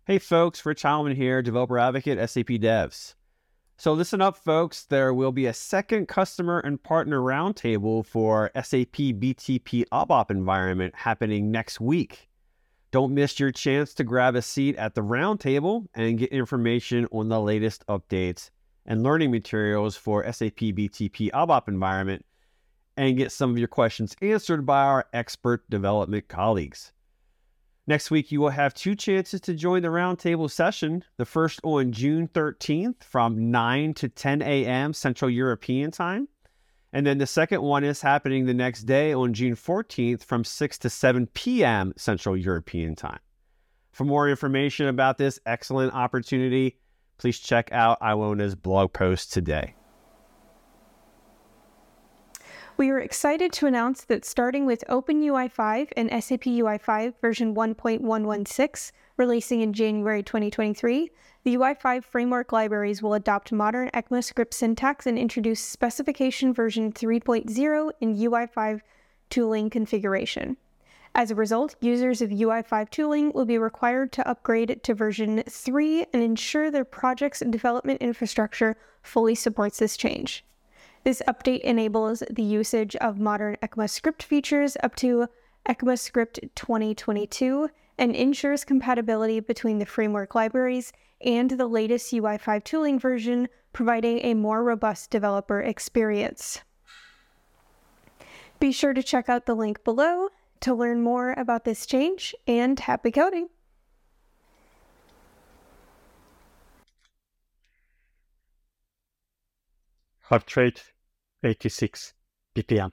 Hey folks, Rich Heilman here, developer advocate, SAP Devs. So listen up folks, there will be a second customer and partner roundtable for SAP BTP ABAP environment happening next week. Don't miss your chance to grab a seat at the roundtable and get information on the latest updates and learning materials for SAP BTP ABAP environment and get some of your questions answered by our expert development colleagues. Next week, you will have two chances to join the roundtable session. The first on June 13th from 9 to 10 a.m. Central European Time. And then the second one is happening the next day on June 14th from 6 to 7 p.m. Central European Time. For more information about this excellent opportunity, please check out Iwona's blog post today. We are excited to announce that starting with OpenUI 5 and SAP UI5 version 1.116, releasing in January 2023, the UI5 framework libraries will adopt modern ECMAScript syntax and introduce specification version 3.0 in UI5 tooling configuration. As a result, users of UI5 tooling will be required to upgrade to version 3 and ensure their project's development infrastructure fully supports this change. This update enables the usage of modern ECMAScript features up to ECMAScript 2022 and ensures compatibility between the framework libraries and the latest UI5 tooling version, providing a more robust developer experience. Be sure to check out the link below to learn more about this change, and happy coding! Heart rate 86 ppm.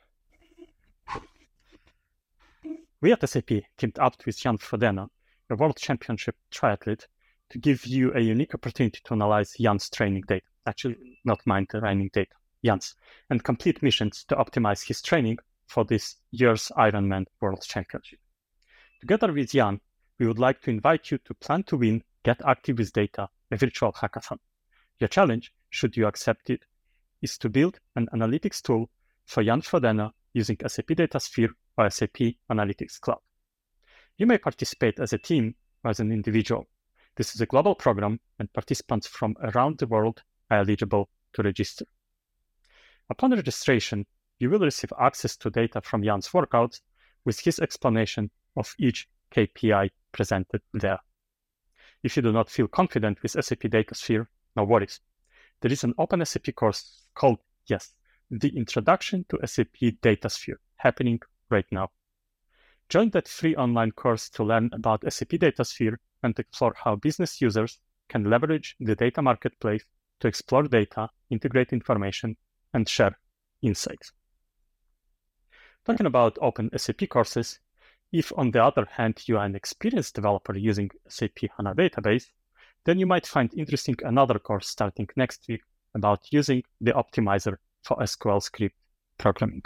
We at SAP teamed up with Jan Frodeno, a world championship triathlete, to give you a unique opportunity to analyze Jan's training data. Actually, not mine, the training data, Jan's, and complete missions to optimize his training for this year's Ironman World Championship. Together with Jan, we would like to invite you to plan to win Get Active with Data, a virtual hackathon. Your challenge, should you accept it, is to build an analytics tool for Jan Frodeno using SAP DataSphere or SAP Analytics Cloud. You may participate as a team or as an individual. This is a global program, and participants from around the world are eligible to register. Upon registration, you will receive access to data from Jan's workouts with his explanation of each KPI presented there. If you do not feel confident with SAP DataSphere, no worries. There is an open SAP course called, the Introduction to SAP DataSphere, happening right now. Join that free online course to learn about SAP DataSphere and explore how business users can leverage the data marketplace to explore data, integrate information, and share insights. Talking about open SAP courses, if on the other hand you are an experienced developer using SAP HANA database, then you might find interesting another course starting next week about using the optimizer for SQL script programming.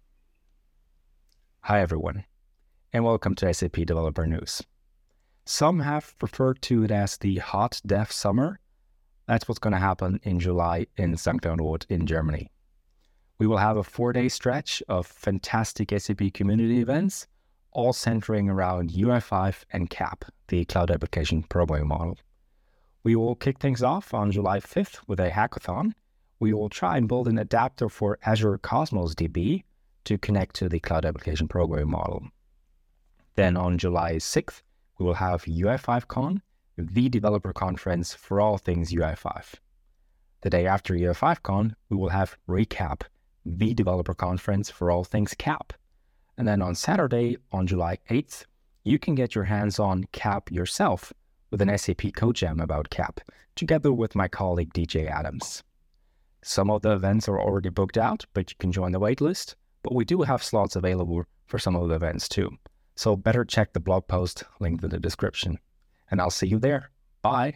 Hi everyone, and welcome to SAP Developer News. Some have referred to it as the Hot Dev Summer. That's what's going to happen in July in St. Cloud in Germany. We will have a 4-day stretch of fantastic SAP community events, all centering around UI5 and CAP, the Cloud Application Programming Model. We will kick things off on July 5th with a hackathon. We will try and build an adapter for Azure Cosmos DB to connect to the Cloud Application Programming Model. Then on July 6th, we will have UI5Con, the developer conference for all things UI5. The day after UI5Con, we will have Recap, the developer conference for all things CAP. And then on Saturday, on July 8th, you can get your hands on CAP yourself with an SAP Code Jam about CAP, together with my colleague DJ Adams. Some of the events are already booked out, but you can join the waitlist. But we do have slots available for some of the events too. So better check the blog post linked in the description. And I'll see you there. Bye.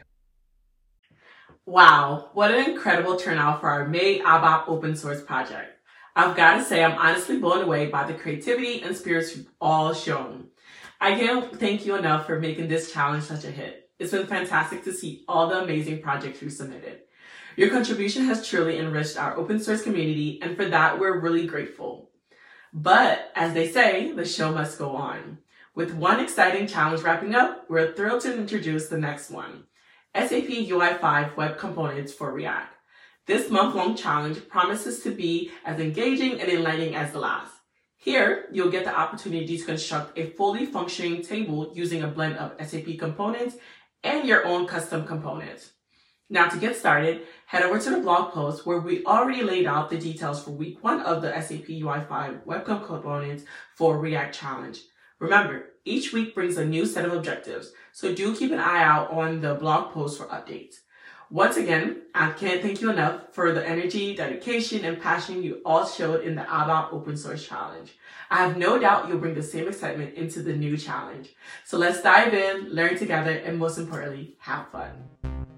Wow, what an incredible turnout for our May ABAP open source project. I've got to say I'm honestly blown away by the creativity and spirits you've all shown. I can't thank you enough for making this challenge such a hit. It's been fantastic to see all the amazing projects you submitted. Your contribution has truly enriched our open source community, and for that, we're really grateful. But as they say, the show must go on. With one exciting challenge wrapping up, we're thrilled to introduce the next one, SAP UI5 Web Components for React. This month-long challenge promises to be as engaging and enlightening as the last. Here, you'll get the opportunity to construct a fully functioning table using a blend of SAP components and your own custom components. Now to get started, head over to the blog post where we already laid out the details for week 1 of the SAP UI5 Web Components for React Challenge. Remember, each week brings a new set of objectives, so do keep an eye out on the blog post for updates. Once again, I can't thank you enough for the energy, dedication, and passion you all showed in the ABAP Open Source Challenge. I have no doubt you'll bring the same excitement into the new challenge. So let's dive in, learn together, and most importantly, have fun.